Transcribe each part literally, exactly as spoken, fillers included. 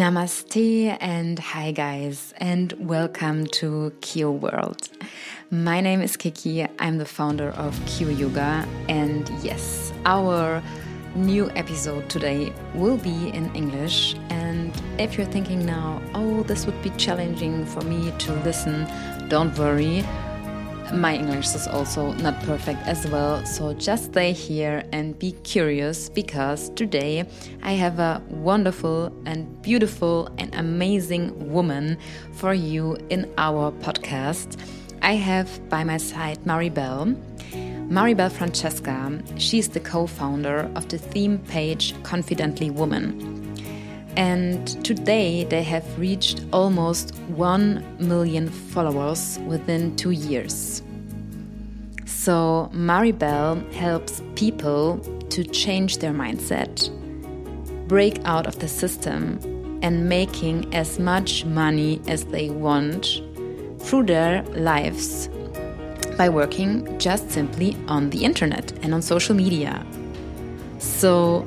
Namaste and hi guys and welcome to Kyo World. My name is Kiki, I'm the founder of Kyo Yoga, and yes, our new episode today will be in English. And if you're thinking now, oh, this would be challenging for me to listen, don't worry. My English is also not perfect as well, so just stay here and be curious, because today I have a wonderful and beautiful and amazing woman for you in our podcast. I have by my side Maribel. Maribel Francesca, she's the co-founder of the theme page Confidently Woman. And today they have reached almost one million followers within two years. So Maribel helps people to change their mindset, break out of the system, and making as much money as they want through their lives by working just simply on the internet and on social media. So,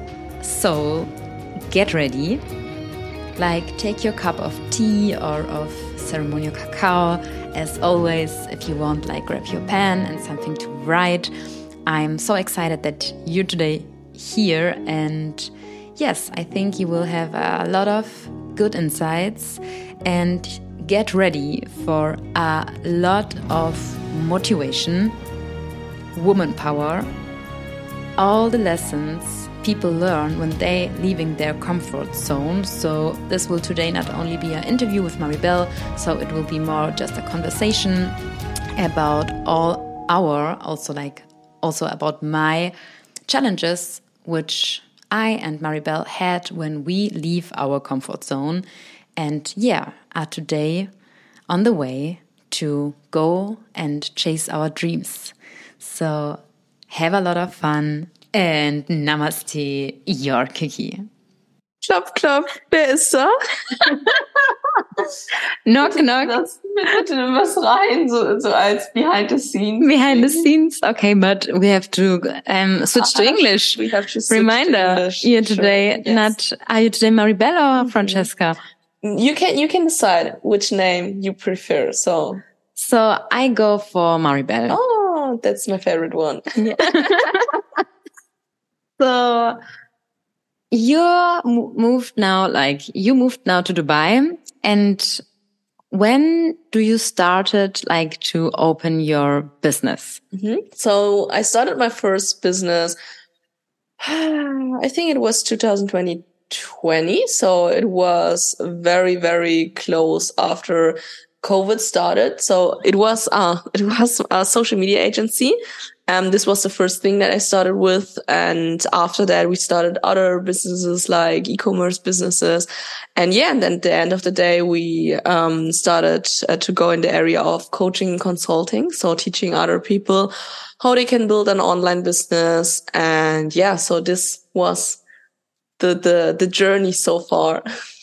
so get ready, like take your cup of tea or of ceremonial cacao. As always, if you want, like grab your pen and something to write. I'm so excited that you're today here, and yes, I think you will have a lot of good insights and get ready for a lot of motivation, woman power, all the lessons people learn when they leaving their comfort zone. So this will today not only be an interview with Maribel, so it will be more just a conversation about all our, also like also about my challenges, which I and Maribel had when we leave our comfort zone, and yeah, are today on the way to go and chase our dreams. So have a lot of fun. And Namaste, your Kiki. Klopf, klopf, wer ist da? Knock, knock. Lass mir bitte was rein, so, so als behind the scenes. Behind the scenes? Okay, but we have to um, switch to English. We have to switch Reminder, to English. you're today Sure. Yes. not, are you today Maribel or Francesca? You can, you can decide which name you prefer, so. So I go for Maribel. Oh, that's my favorite one. Yeah. So you moved now, like you moved now to Dubai, and when do you started like to open your business? Mm-hmm. So I started my first business, I think it was two thousand twenty. So it was very, very close after COVID started. So it was, uh, it was a social media agency. Um, this was the first thing that I started with. And after that, we started other businesses like e-commerce businesses. And yeah, and then at the end of the day, we, um, started uh, to go in the area of coaching and consulting. So teaching other people how they can build an online business. And yeah, so this was the, the, the journey so far.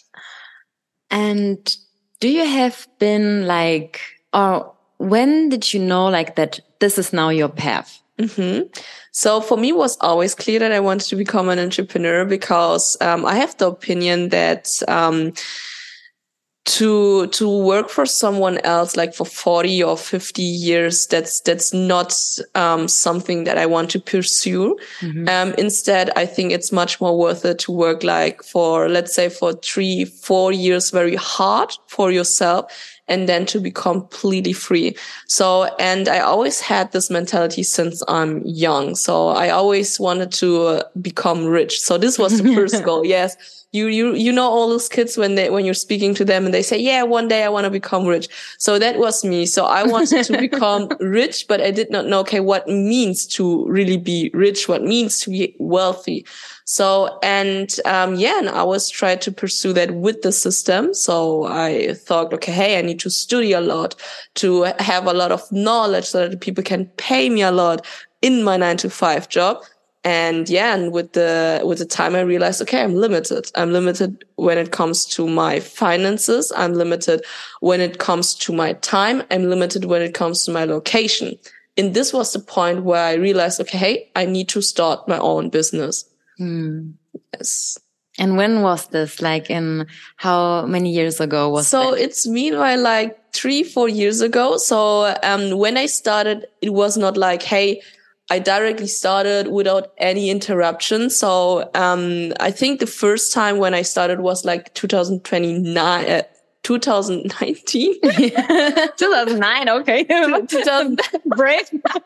And do you have been like, or when did you know like that this is now your path? Mm-hmm. So for me, it was always clear that I wanted to become an entrepreneur, because um, I have the opinion that um, to to work for someone else like for forty or fifty years, that's that's not um, something that I want to pursue. Mm-hmm. Um, instead, I think it's much more worth it to work like for, let's say, for three, four years very hard for yourself, and then to be completely free. So, and I always had this mentality since I'm young. So I always wanted to uh, become rich. So this was the first goal. Yes. You, you, you know, all those kids when they, when you're speaking to them and they say, yeah, one day I want to become rich. So that was me. So I wanted to become rich, but I did not know, okay, what means to really be rich? What means to be wealthy? So, and, um, yeah, and I always tried to pursue that with the system. So I thought, okay, hey, I need to study a lot to have a lot of knowledge so that people can pay me a lot in my nine to five job. And yeah, and with the, with the time I realized, okay, I'm limited. I'm limited when it comes to my finances. I'm limited when it comes to my time. I'm limited when it comes to my location. And this was the point where I realized, okay, hey, I need to start my own business. Hmm. Yes. And when was this? Like in how many years ago was so that? It's meanwhile like three, four years ago. So um, when I started, it was not like, hey, I directly started without any interruption. So um, I think the first time when I started was like two thousand twenty-nine, uh, twenty nineteen. two thousand nine, okay. two thousand Brave.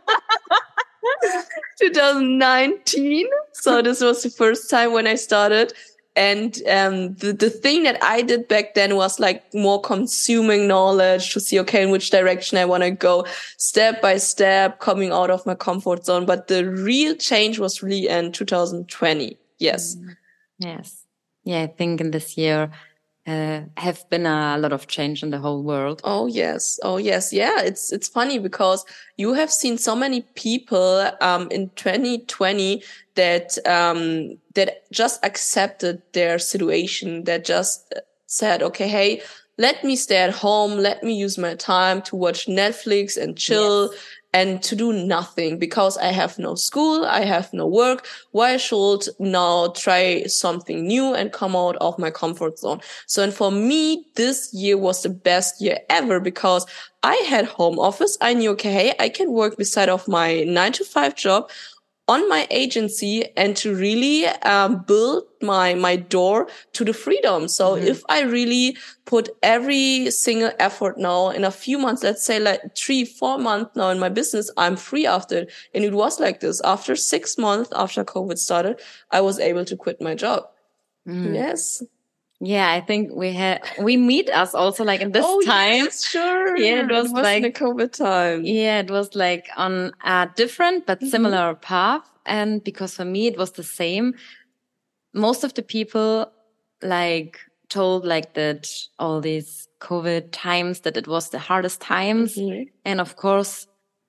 twenty nineteen. So this was the first time when I started. And um, the, the thing that I did back then was like more consuming knowledge to see, okay, in which direction I want to go step by step, coming out of my comfort zone. But the real change was really in two thousand twenty. Yes. Yes. Yeah, I think in this year uh, have been a lot of change in the whole world. Oh, yes. Oh, yes. Yeah. It's, it's funny because you have seen so many people um, in twenty twenty that um that just accepted their situation, that just said, okay, hey, let me stay at home, let me use my time to watch Netflix and chill. Yes. And to do nothing because I have no school, I have no work. Why should now try something new and come out of my comfort zone? So, and for me, this year was the best year ever because I had home office. I knew, okay, hey, I can work beside of my nine to five job on my agency and to really um, build my my door to the freedom. So mm-hmm. if I really put every single effort now in a few months, let's say like three, four months now in my business, I'm free after it. And it was like this. After six months after COVID started, I was able to quit my job. Mm. Yes. Yeah, I think we had, we meet us also like in this oh, time. Yes, sure. Yeah, it was, it was like in the COVID time. Yeah, it was like on a different but similar mm-hmm. path. And because for me, it was the same. Most of the people like told like that all these COVID times, that it was the hardest times. Mm-hmm. And of course,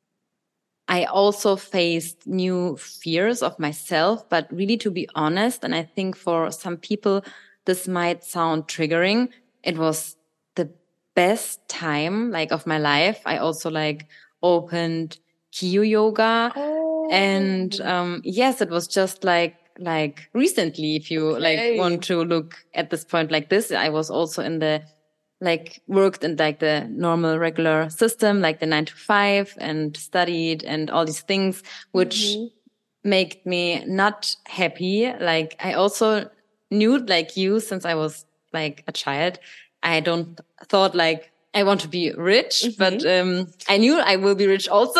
I also faced new fears of myself, but really to be honest, and I think for some people, this might sound triggering. It was the best time like of my life. I also like opened Q yoga. Oh. And um yes, it was just like like recently, if you okay. like want to look at this point like this, I was also in the like worked in like the normal regular system, like the nine to five, and studied and all these things, which mm-hmm. made me not happy. Like I also knew like you since I was like a child. I don't thought like I want to be rich, mm-hmm. but um I knew I will be rich also.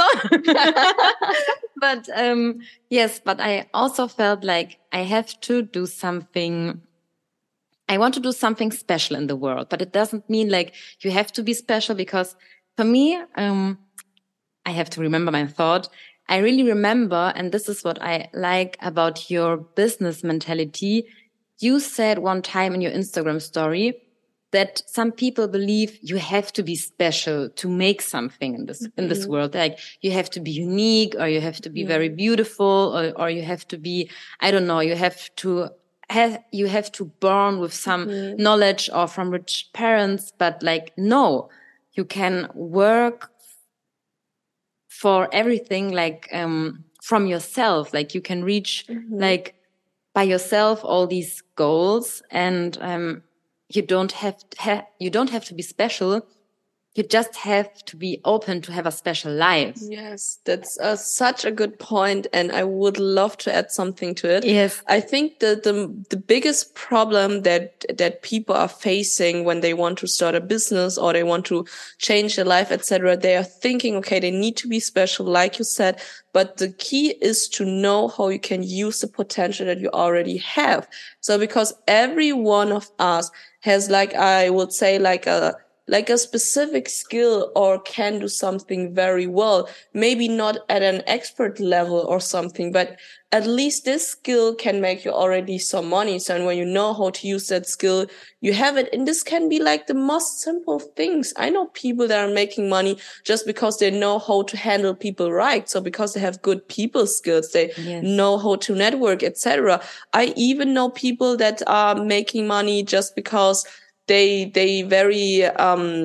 But um yes, but I also felt like I have to do something. I want to do something special in the world, but it doesn't mean like you have to be special, because for me, um I have to remember my thought. I really remember, and this is what I like about your business mentality. You said one time in your Instagram story that some people believe you have to be special to make something in this, mm-hmm. in this world. Like you have to be unique, or you have to be mm-hmm. very beautiful, or, or you have to be, I don't know, you have to have, you have to born with some mm-hmm. knowledge or from rich parents. But like, no, you can work for everything, like, um, from yourself. Like you can reach mm-hmm. like by yourself all these goals, and, um, you don't have to ha- you don't have to be special. You just have to be open to have a special life. Yes, that's uh, such a good point, and I would love to add something to it. Yes, I think that the the biggest problem that that people are facing when they want to start a business or they want to change their life, et cetera, they are thinking, okay, they need to be special, like you said. But the key is to know how you can use the potential that you already have. So because every one of us has, like, I would say, like a like a specific skill or can do something very well. Maybe not at an expert level or something, but at least this skill can make you already some money. So, and when you know how to use that skill, you have it. And this can be like the most simple things. I know people that are making money just because they know how to handle people right. So because they have good people skills, they yes. know how to network, et cetera. I even know people that are making money just because they they very um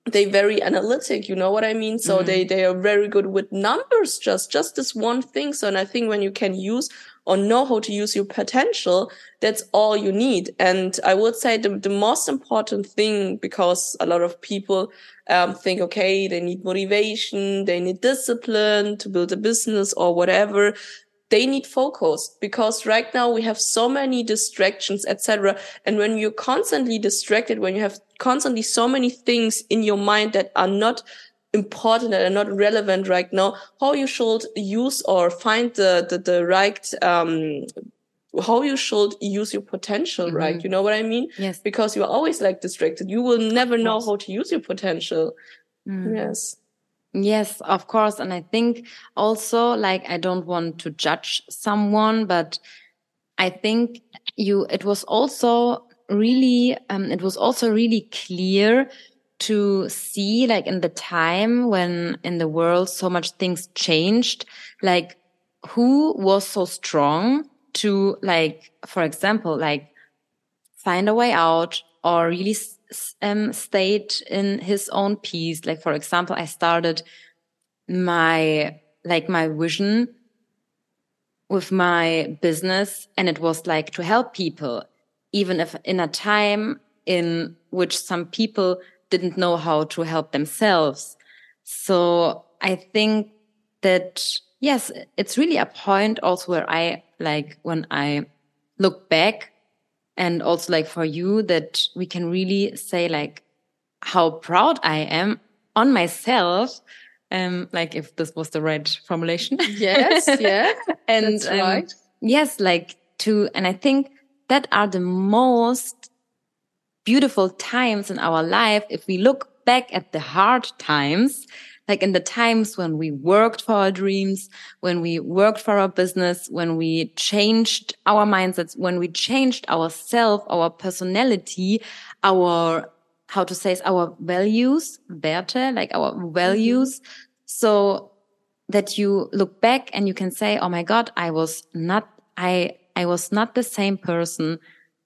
they very analytic, you know what I mean? So mm. they, they are very good with numbers, just, just this one thing. So, and I think when you can use or know how to use your potential, that's all you need. And I would say the, the most important thing, because a lot of people um, think, okay, they need motivation, they need discipline to build a business or whatever. They need focus, because right now we have so many distractions, et cetera. And when you're constantly distracted, when you have constantly so many things in your mind that are not important, that are not relevant right now, how you should use or find the the, the right um how you should use your potential, mm-hmm. right? You know what I mean? Yes. Because you're always like distracted. You will never know how to use your potential. Mm. Yes. Yes, of course. And I think also, like, I don't want to judge someone, but I think you, it was also really, um, it was also really clear to see, like, in the time when in the world so much things changed, like, who was so strong to, like, for example, like, find a way out or really um, stayed in his own peace. Like, for example, I started my, like my vision with my business, and it was like to help people, even if in a time in which some people didn't know how to help themselves. So I think that, yes, it's really a point also where I, like, when I look back, and also like for you, that we can really say like how proud I am on myself. Um, like if this was the right formulation. Yes, yeah. And that's right. Um, yes, like to, and I think that are the most beautiful times in our life. If we look back at the hard times, like in the times when we worked for our dreams, when we worked for our business, when we changed our mindsets, when we changed ourselves, our personality, our, how to say it, our values, Werte, like our values. Mm-hmm. So that you look back and you can say, oh my God, I was not, I, I was not the same person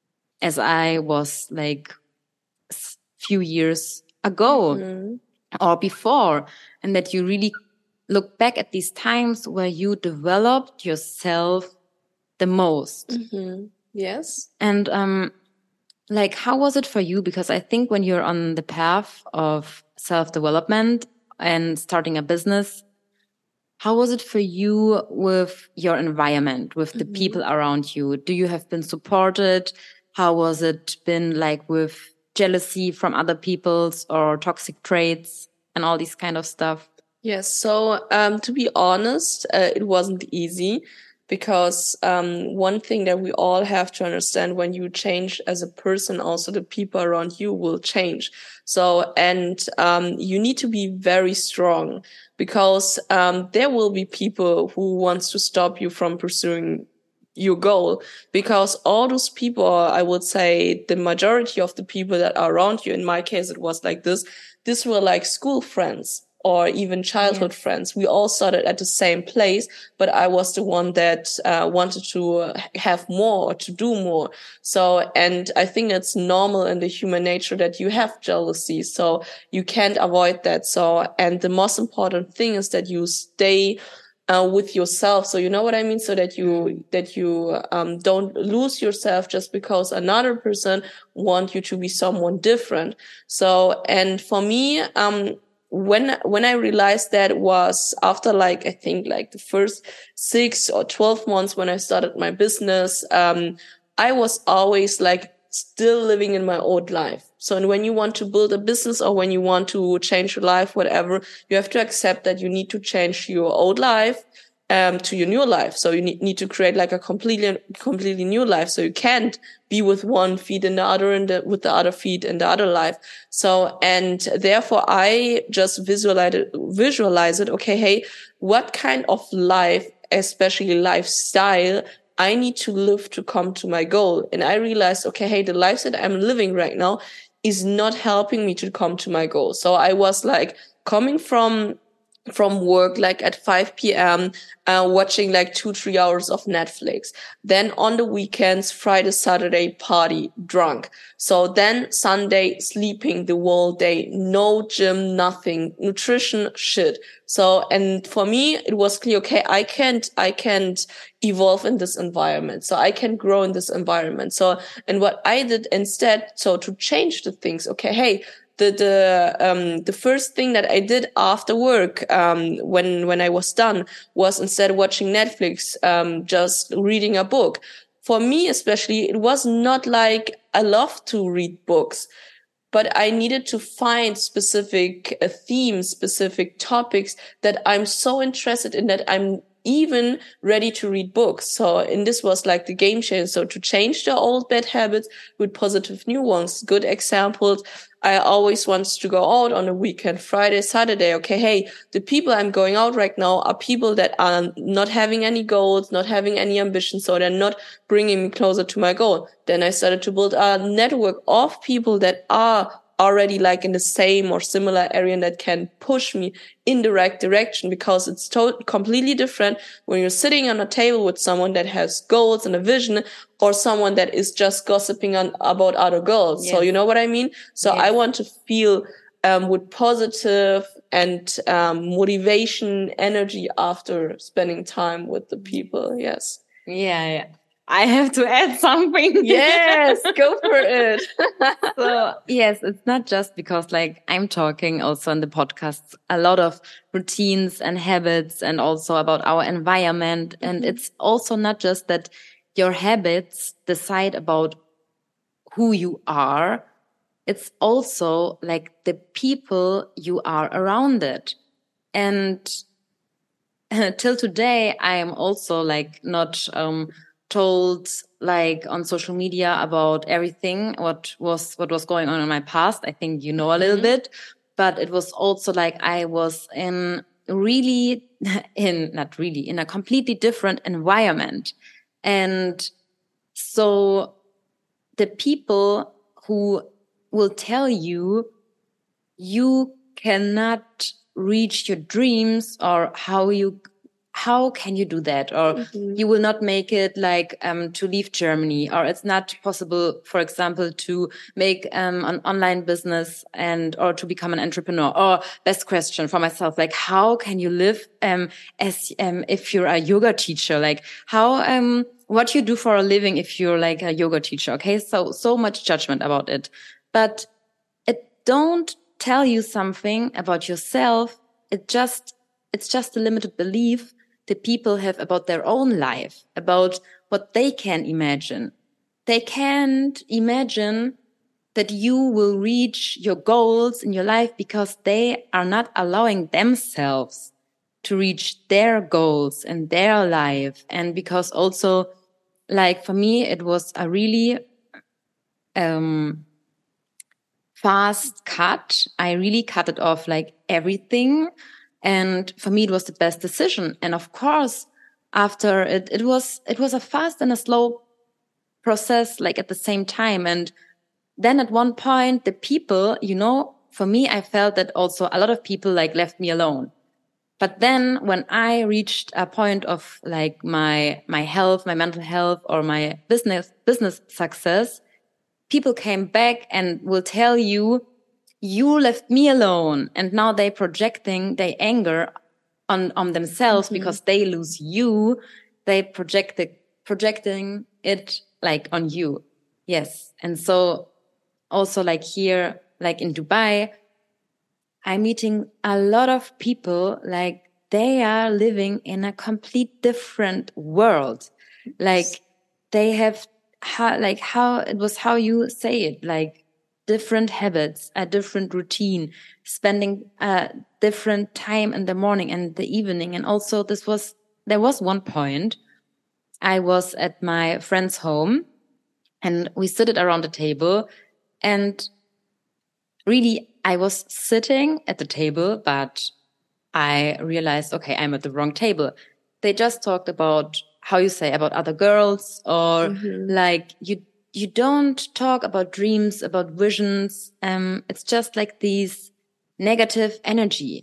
as I was like a few years ago. Mm-hmm. Or before, and that you really look back at these times where you developed yourself the most. Mm-hmm. Yes. And um, like, how was it for you? Because I think when you're on the path of self-development and starting a business, how was it for you with your environment, with the mm-hmm. people around you? Do you have been supported? How was it been like with jealousy from other people's or toxic traits and all these kind of stuff? Yes. So, um, to be honest, uh, it wasn't easy, because, um, one thing that we all have to understand, when you change as a person, also the people around you will change. So, and, um, you need to be very strong, because, um, there will be people who wants to stop you from pursuing your goal, because all those people, I would say the majority of the people that are around you, in my case, it was like this, this were like school friends or even childhood yes. friends. We all started at the same place, but I was the one that uh, wanted to have more or to do more. So, and I think it's normal in the human nature that you have jealousy. So you can't avoid that. So, and the most important thing is that you stay Uh, with yourself. So you know what I mean? So that you, that you, um, don't lose yourself just because another person wants you to be someone different. So, and for me, um, when, when I realized that was after like, I think like the first six or twelve months when I started my business, um, I was always like still living in my old life. So and when you want to build a business or when you want to change your life, whatever, you have to accept that you need to change your old life um, to your new life. So you need, need to create like a completely, completely new life. So you can't be with one feet in the other and the, with the other feet in the other life. So, and therefore I just visualize it, visualize it. Okay. Hey, what kind of life, especially lifestyle, I need to live to come to my goal? And I realized, okay, hey, the life that I'm living right now is not helping me to come to my goal. So I was like coming from from work, like at five p.m., uh, watching like two, three hours of Netflix. Then on the weekends, Friday, Saturday, party, drunk. So then Sunday, sleeping the whole day, no gym, nothing, nutrition, shit. So, and for me, it was clear, okay, I can't, I can't evolve in this environment. So I can grow in this environment. So, and what I did instead, so to change the things, okay, hey, The the um the first thing that I did after work um when when I was done was, instead of watching Netflix, um just reading a book. For me especially, it was not like I love to read books, but I needed to find specific uh, themes, specific topics that I'm so interested in that I'm even ready to read books. So, and this was like the game changer. So to change the old bad habits with positive new ones. Good examples. I always wanted to go out on a weekend, Friday, Saturday. Okay, hey, the people I'm going out right now are people that are not having any goals, not having any ambition, so they're not bringing me closer to my goal. Then I started to build a network of people that are already like in the same or similar area and that can push me in the right direction, because it's to- completely different when you're sitting on a table with someone that has goals and a vision, or someone that is just gossiping on about other girls. Yes. So you know what I mean? So yes. I want to feel um, with positive and um, motivation, energy after spending time with the people. Yes. Yeah, yeah. I have to add something. Yes, go for it. So, yes, it's not just because like I'm talking also in the podcasts a lot of routines and habits and also about our environment. Mm-hmm. And it's also not just that your habits decide about who you are. It's also like the people you are around it. And till today, I am also like not, um, told like on social media about everything what was what was going on in my past. I think you know a little mm-hmm. bit, but it was also like I was in really in not really in a completely different environment. And so the people who will tell you you cannot reach your dreams, or how you how can you do that? Or mm-hmm. you will not make it like um to leave Germany, or it's not possible, for example, to make um an online business and or to become an entrepreneur. Or best question for myself, like how can you live um as um if you're a yoga teacher? Like how um what you do for a living if you're like a yoga teacher? Okay, so so much judgment about it, but it don't tell you something about yourself. It just it's just a limited belief that people have about their own life, about what they can imagine. They can't imagine that you will reach your goals in your life because they are not allowing themselves to reach their goals in their life. And because also, like for me, it was a really um, fast cut. I really cut it off, like everything. And for me, it was the best decision. And of course, after it, it was, it was a fast and a slow process, like at the same time. And then at one point, the people, you know, for me, I felt that also a lot of people like left me alone. But then when I reached a point of like my, my health, my mental health, or my business, business success, people came back and will tell you, you left me alone. And now they projecting their anger on, on themselves mm-hmm. because they lose you. They project it, projecting it like on you. Yes. And so also like here, like in Dubai, I'm meeting a lot of people, like they are living in a complete different world. Like they have how, like how it was how you say it, like different habits, a different routine, spending a different time in the morning and the evening. And also this was, there was one point I was at my friend's home and we stood around the table, and really I was sitting at the table, but I realized, okay, I'm at the wrong table. They just talked about how you say about other girls, or mm-hmm. like you You don't talk about dreams, about visions. Um, it's just like these negative energy.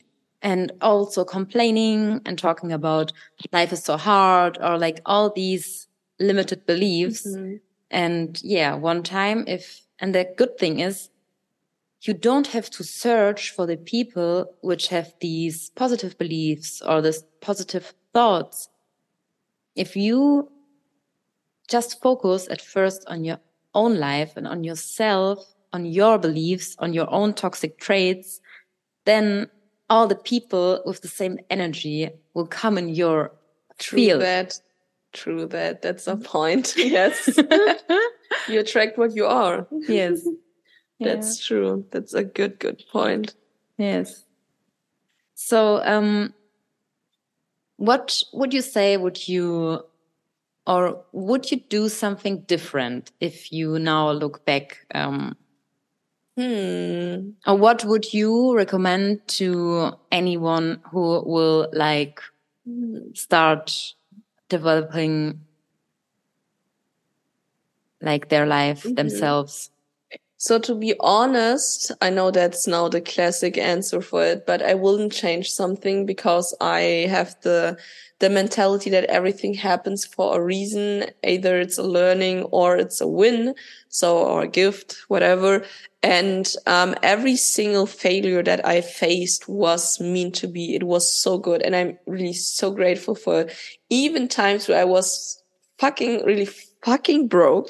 and also complaining and talking about life is so hard or like all these limited beliefs. Mm-hmm. And yeah, one time if, and the good thing is you don't have to search for the people which have these positive beliefs or this positive thoughts. If you just focus at first on your own life and on yourself, on your beliefs, on your own toxic traits, then all the people with the same energy will come in your True field. that. True that. That's a point. Yes. You attract what you are. Yes. That's yeah. true. That's a good, good point. Yes. So, um, what would you say would you, or would you do something different if you now look back? Um, hmm. Or what would you recommend to anyone who will like start developing like their life mm-hmm. themselves? So to be honest, I know that's now the classic answer for it, but I wouldn't change something because I have the the mentality that everything happens for a reason. Either it's a learning or it's a win, so or a gift, whatever. And um every single failure that I faced was meant to be. It was so good, and I'm really so grateful for it. Even times where I was fucking really fucking broke.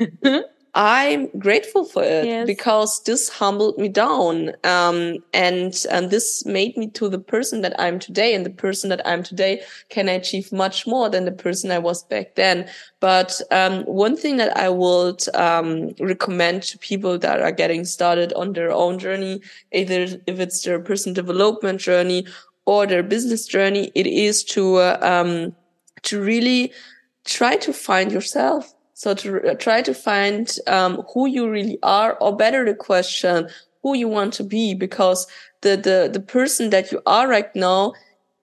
I'm grateful for it yes. because this humbled me down. Um, and, and this made me to the person that I'm today, and the person that I'm today can achieve much more than the person I was back then. But, um, one thing that I would, um, recommend to people that are getting started on their own journey, either if it's their personal development journey or their business journey, it is to, uh, um, to really try to find yourself. So to try to find um who you really are, or better the question, who you want to be, because the the the person that you are right now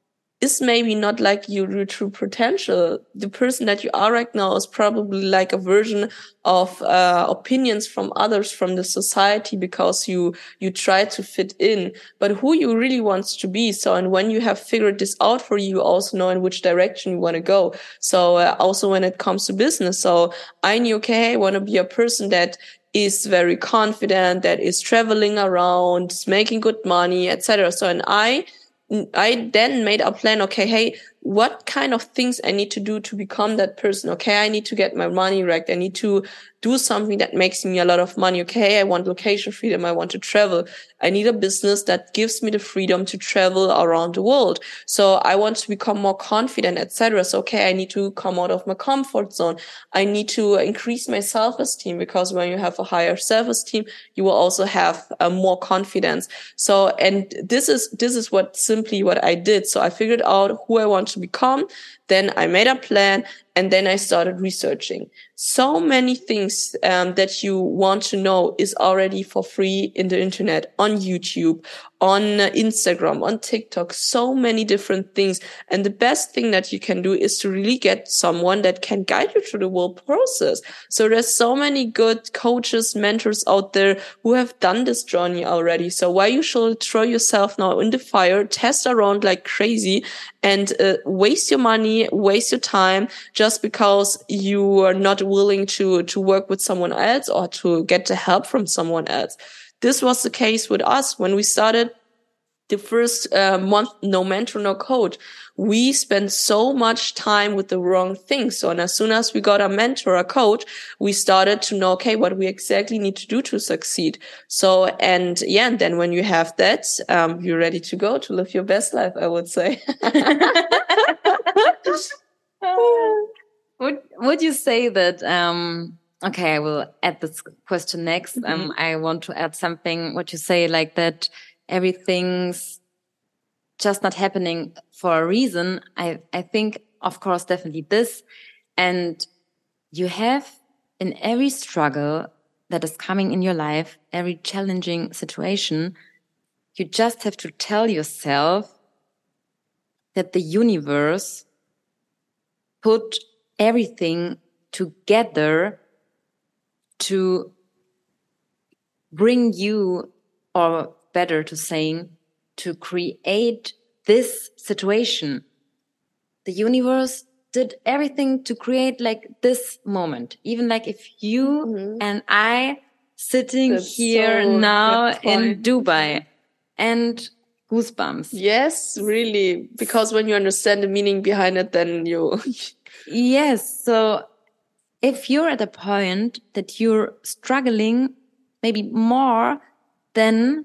is maybe not like your true potential. The person that you are right now is probably like a version of uh opinions from others, from the society, because you you try to fit in. But who you really want to be, so and when you have figured this out for you, you also know in which direction you want to go. So uh, also when it comes to business, so I knew, okay, I want to be a person that is very confident, that is traveling around, making good money, et cetera. So and I I then made a plan, okay, hey, what kind of things I need to do to become that person? Okay, I need to get my money right. I need to do something that makes me a lot of money. Okay, I want location freedom. I want to travel. I need a business that gives me the freedom to travel around the world. So I want to become more confident, et cetera. So, okay, I need to come out of my comfort zone. I need to increase my self-esteem, because when you have a higher self-esteem, you will also have uh, more confidence. So, and this is, this is what simply what I did. So I figured out who I want to become. Then I made a plan, and then I started researching. So many things um, that you want to know is already for free in the internet, on YouTube, on Instagram, on TikTok, so many different things. And the best thing that you can do is to really get someone that can guide you through the whole process. So there's so many good coaches, mentors out there who have done this journey already. So why you should throw yourself now in the fire, test around like crazy, and uh, waste your money, waste your time, just because you are not willing to, to work with someone else or to get the help from someone else. This was the case with us when we started the first uh, month, no mentor, no coach. We spent so much time with the wrong things. So, and as soon as we got a mentor, a coach, we started to know, okay, what we exactly need to do to succeed. So, and yeah, and then when you have that, um, you're ready to go to live your best life, I would say. would, would you say that, um, okay, I will add this question next. Mm-hmm. Um, I want to add something, what you say, like that everything's just not happening for a reason. I, I think, of course, definitely this. And you have in every struggle that is coming in your life, every challenging situation, you just have to tell yourself that the universe put everything together to bring you, or better to saying, to create this situation. The universe did everything to create like this moment. Even like if you mm-hmm. and I sitting That's here so now in Dubai and goosebumps. Yes, really. Because when you understand the meaning behind it, then you... Yes. So if you're at a point that you're struggling maybe more, then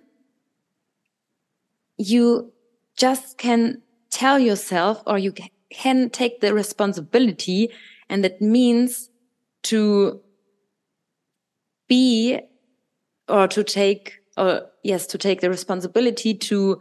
you just can tell yourself, or you can take the responsibility, and that means to be, or to take, or yes, to take the responsibility to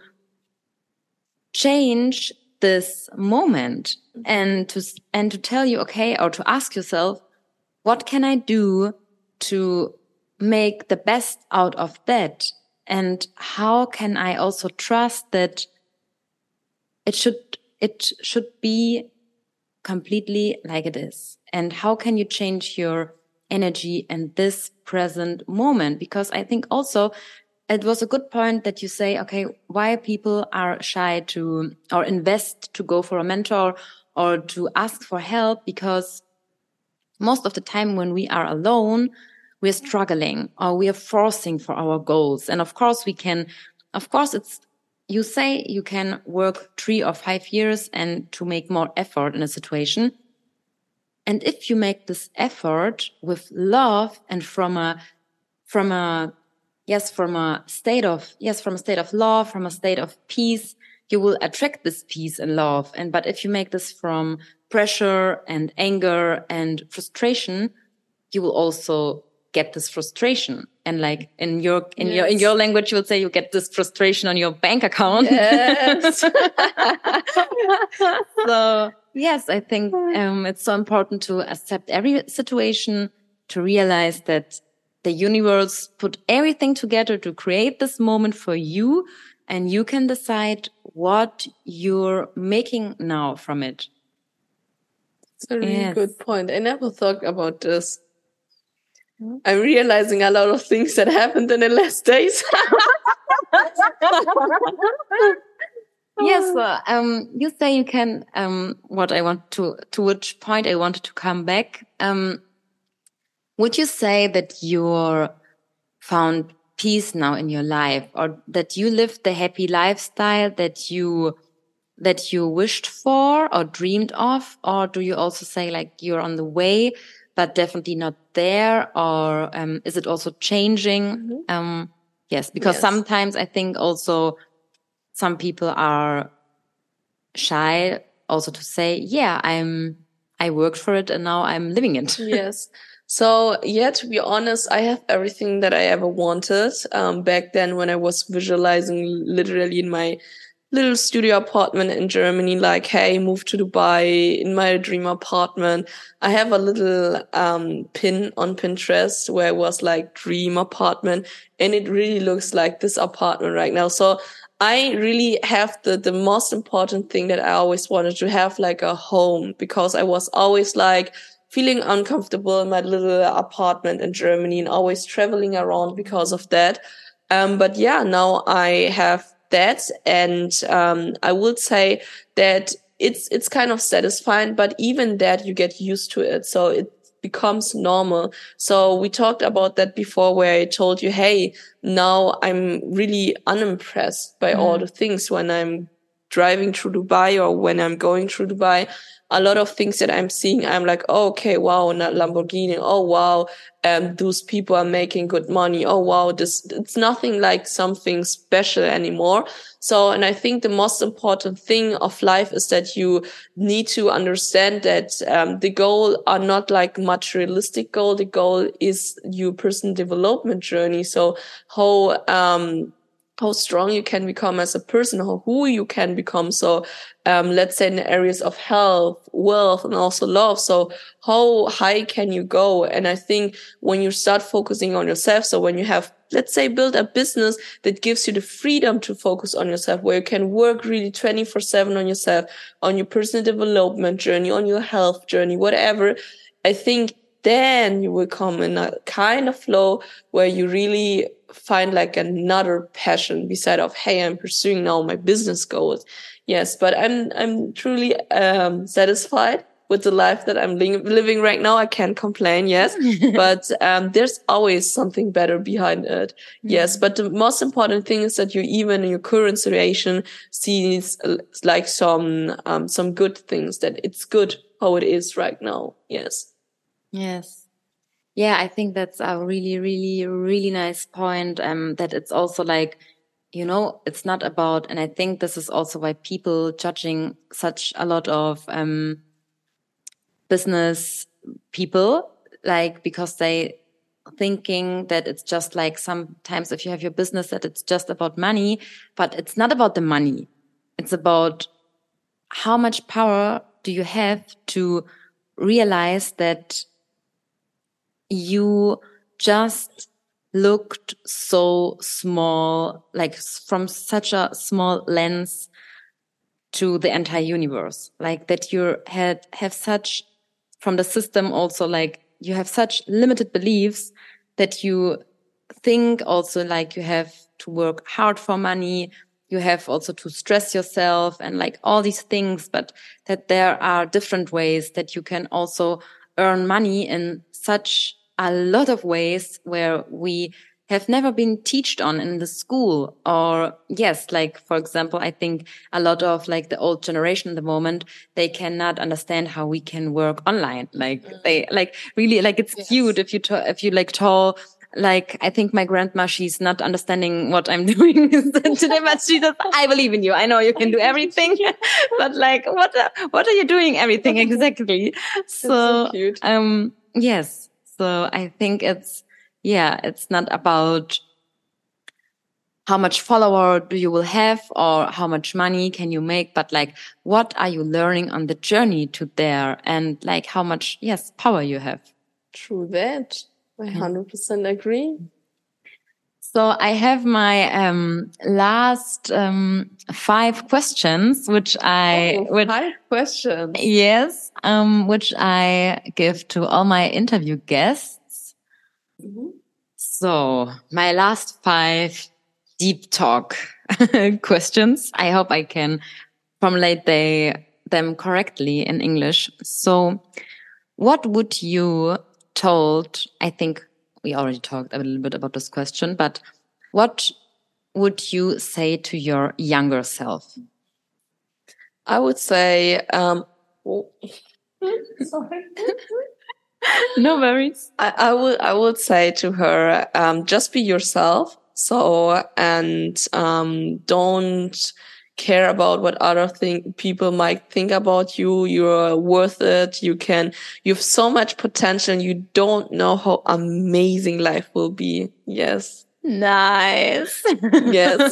change this moment, and to, and to tell you, okay, or to ask yourself, what can I do to make the best out of that? And how can I also trust that it should, it should be completely like it is? And how can you change your energy in this present moment? Because I think also it was a good point that you say, okay, why people are shy to, or invest to go for a mentor or to ask for help, because most of the time when we are alone, we're struggling or we are forcing for our goals. And of course we can, of course it's, you say you can work three or five years and to make more effort in a situation. And if you make this effort with love and from a, from a, yes, from a state of, yes, from a state of love, from a state of peace, you will attract this peace and love. And, but if you make this from pressure and anger and frustration, you will also get this frustration. And like in your, in yes. your, in your language, you will say you get this frustration on your bank account. Yes. So yes, I think, um, it's so important to accept every situation, to realize that the universe put everything together to create this moment for you, and you can decide what you're making now from it. It's a really yes. good point. I never thought about this. I'm realizing a lot of things that happened in the last days. Yes, well, um, you say you can, um, what I want to, to which point I wanted to come back. Um, would you say that you're found peace now in your life, or that you lived the happy lifestyle that you, that you wished for or dreamed of? Or do you also say like you're on the way, but definitely not there? Or, um, is it also changing? Mm-hmm. Um, yes, because yes. sometimes I think also some people are shy also to say, yeah, I'm, I worked for it and now I'm living it. Yes. So yeah, to be honest, I have everything that I ever wanted. Um, back then when I was visualizing literally in my little studio apartment in Germany, like, hey, move to Dubai in my dream apartment. I have a little, um, pin on Pinterest where it was like dream apartment, and it really looks like this apartment right now. So I really have the, the most important thing that I always wanted to have, like a home, because I was always like, feeling uncomfortable in my little apartment in Germany and always traveling around because of that. Um, but yeah, now I have that. And, um, I would say that it's, it's kind of satisfying, but even that you get used to it. So it becomes normal. So we talked about that before, where I told you, hey, now I'm really unimpressed by mm. all the things when I'm driving through Dubai or when I'm going through Dubai. A lot of things that I'm seeing, I'm like, oh, okay, wow, not Lamborghini. Oh, wow, um, those people are making good money. Oh, wow, this, it's nothing like something special anymore. So, and I think the most important thing of life is that you need to understand that, um, the goal are not like materialistic goal. The goal is your personal development journey. So how, um, how strong you can become as a person, how who you can become. So, um, let's say in the areas of health, wealth, and also love. So how high can you go? And I think when you start focusing on yourself, so when you have, let's say, build a business that gives you the freedom to focus on yourself, where you can work really twenty-four seven on yourself, on your personal development journey, on your health journey, whatever. I think then you will come in a kind of flow where you really find like another passion beside of, hey, I'm pursuing now my business goals. Yes, but I'm I'm truly um satisfied with the life that I'm li- living right now. I can't complain, yes, but um there's always something better behind it. Yes, but the most important thing is that you even in your current situation sees uh, like some um some good things, that it's good how it is right now. Yes. Yes. Yeah, I think that's a really, really, really nice point. Um, that it's also like, you know, it's not about, and I think this is also why people judging such a lot of um business people, like because they thinking that it's just like sometimes if you have your business that it's just about money, but it's not about the money. It's about how much power do you have to realize that you just looked so small, like from such a small lens to the entire universe, like that you had have such from the system also, like you have such limited beliefs that you think also like you have to work hard for money, you have also to stress yourself and like all these things, but that there are different ways that you can also earn money in such a lot of ways where we have never been taught on in the school. Or yes, like for example, I think a lot of like the old generation at the moment, they cannot understand how we can work online. Like mm. they like really like it's yes. cute if you to, if you like tell. Like, I think my grandma, she's not understanding what I'm doing today, but she says, I believe in you. I know you can do everything. But like, what, are, what are you doing everything exactly? So, so cute. um, yes. So I think it's, yeah, it's not about how much follower do you will have or how much money can you make, but like, what are you learning on the journey to there and like how much, yes, power you have. True that. I one hundred percent agree. So I have my um, last um, five questions, which I oh, which, five questions. Yes, um, which I give to all my interview guests. Mm-hmm. So my last five deep talk questions. I hope I can formulate they, them correctly in English. So, what would you told? I think we already talked a little bit about this question, but what would you say to your younger self? I would say, um, oh. Sorry. No worries. I, I would, I would say to her, um, just be yourself. So, and, um, don't care about what other thing people might think about you. You're worth it. You can, you have so much potential and you don't know how amazing life will be. Yes. Nice. Yes.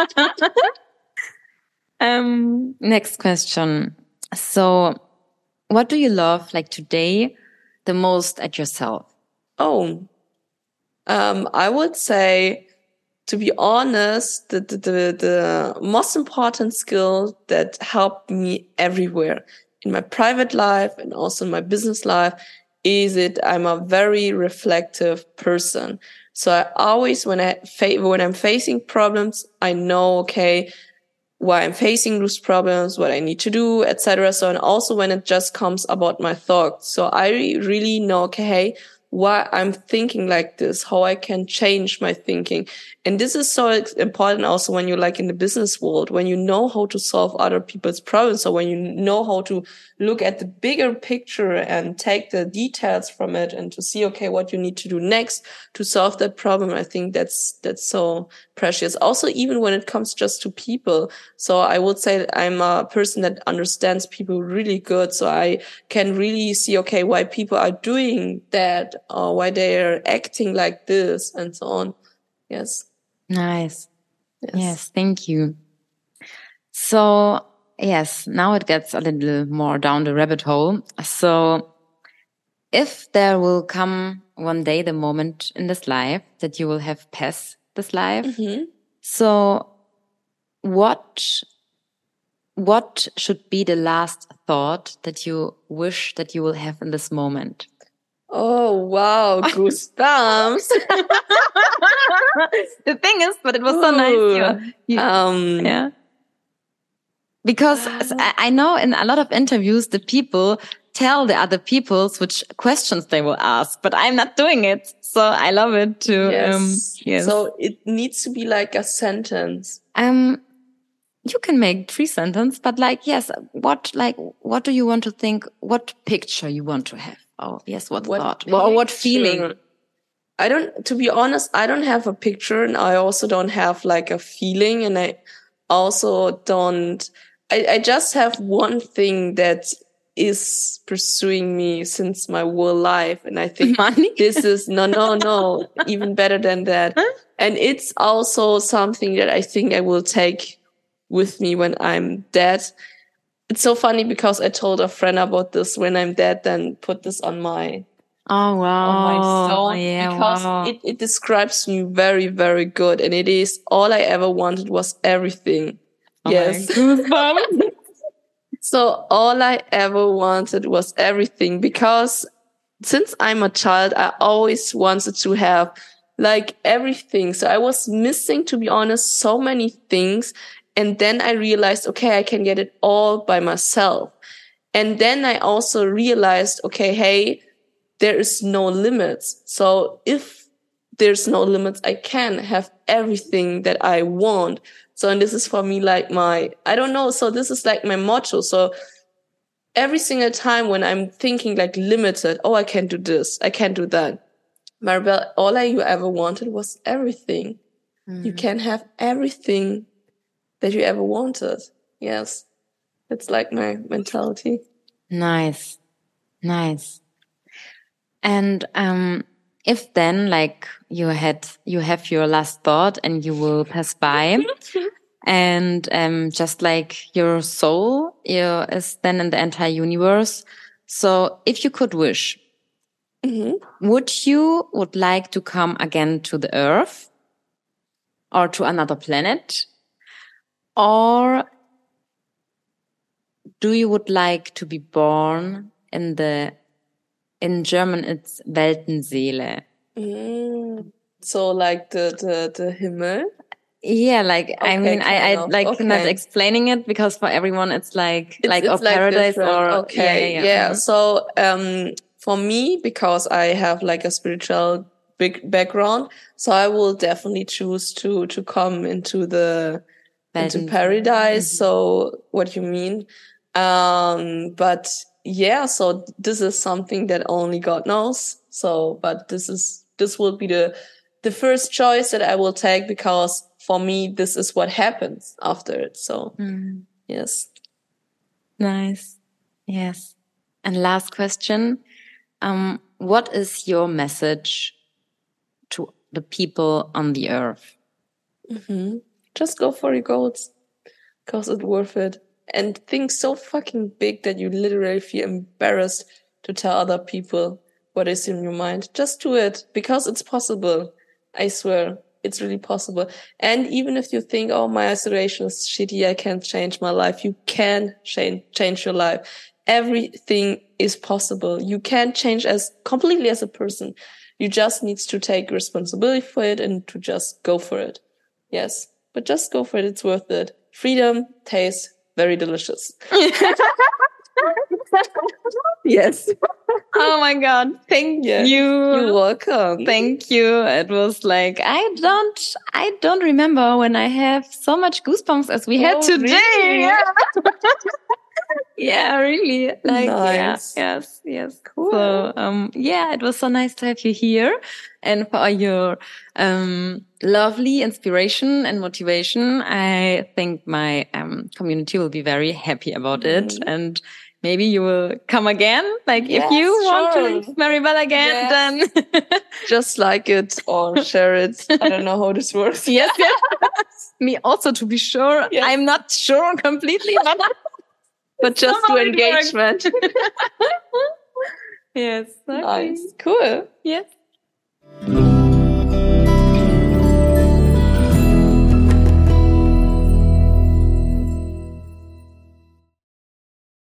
um, next question. So what do you love like today the most at yourself? Oh, um, I would say, to be honest, the, the, the, the most important skill that helped me everywhere in my private life and also in my business life is it I'm a very reflective person. So I always, when I fa- when I'm facing problems, I know, okay, why I'm facing those problems, what I need to do, et cetera. So, and also when it just comes about my thoughts. So I really know, okay, hey, why I'm thinking like this, how I can change my thinking. And this is so important also when you're like in the business world, when you know how to solve other people's problems. So when you know how to look at the bigger picture and take the details from it and to see, okay, what you need to do next to solve that problem. I think that's, that's so precious. Also, even when it comes just to people. So I would say that I'm a person that understands people really good. So I can really see, okay, why people are doing that or why they are acting like this and so on. Yes. Nice. Yes. Yes. Thank you. So yes, now it gets a little more down the rabbit hole. So if there will come one day the moment in this life that you will have passed this life. Mm-hmm. So what, what should be the last thought that you wish that you will have in this moment? Oh, wow. Goosebumps. The thing is, but it was so nice. You, you, um, yeah. Because I, I know in a lot of interviews, the people tell the other peoples which questions they will ask, but I'm not doing it. So I love it too. Yes. Um, yes. So it needs to be like a sentence. Um, you can make three sentences, but like, yes, what, like, what do you want to think? What picture you want to have? Oh, yes. What, what thought? Or what feeling? I don't, to be honest, I don't have a picture, and I also don't have like a feeling, and I also don't, I, I just have one thing that is pursuing me since my whole life. And I think money. This is no, no, no, even better than that. And it's also something that I think I will take with me when I'm dead. It's so funny because I told a friend about this. When I'm dead, then put this on my oh wow on my stone, yeah, because wow. it, it describes me very, very good. And it is all I ever wanted was everything. Oh, yes. So all I ever wanted was everything, because since I'm a child, I always wanted to have like everything. So I was missing, to be honest, so many things. And then I realized, okay, I can get it all by myself. And then I also realized, okay, hey, there is no limits. So if there's no limits, I can have everything that I want. So, and this is for me like my, I don't know. So this is like my motto. So every single time when I'm thinking like limited, oh, I can't do this, I can't do that. Maribel, all I you ever wanted was everything. Mm. You can have everything that you ever wanted. Yes. It's like my mentality. Nice. Nice. And, um, if then like you had, you have your last thought and you will pass by and, um, just like your soul your, is then in the entire universe. So if you could wish, mm-hmm. would you would like to come again to the earth or to another planet? Or do you would like to be born in the, in German, it's Weltenseele. Mm. So like the, the, the Himmel? Yeah, like, okay, I mean, I, I like okay. not explaining it because for everyone it's like, it's, like, it's or like paradise different. Or, okay. Yeah. yeah, yeah. Mm-hmm. So, um, for me, because I have like a spiritual big background, so I will definitely choose to, to come into the, into paradise. Mm-hmm. So what you mean? Um, but yeah, so this is something that only God knows. So, but this is, this will be the, the first choice that I will take, because for me, this is what happens after it. So, mm. yes. Nice. Yes. And last question. Um, what is your message to the people on the earth? Mm-hmm. Just go for your goals, because it's worth it. And think so fucking big that you literally feel embarrassed to tell other people what is in your mind. Just do it, because it's possible. I swear, it's really possible. And even if you think, oh, my isolation is shitty, I can't change my life, you can change, change your life. Everything is possible. You can change as completely as a person. You just need to take responsibility for it and to just go for it. Yes, but just go for it. It's worth it. Freedom tastes very delicious. Yes. Oh my God. Thank yes. you. You're welcome. Thank you. It was like, I don't, I don't remember when I have so much goosebumps as we had oh, today. Really? Yeah. Yeah, really. Like, nice. Yeah, yes, yes. Cool. So, um, yeah, it was so nice to have you here and for your, um, lovely inspiration and motivation. I think my, um, community will be very happy about mm-hmm. it, and maybe you will come again. Like, yes, if you sure. want to meet Maribel again, yes. then just like it or share it. I don't know how this works. Yes, yes. Me also, to be sure. Yes. I'm not sure completely, but but just do engagement. Yes. Okay. Nice. Cool. Yes.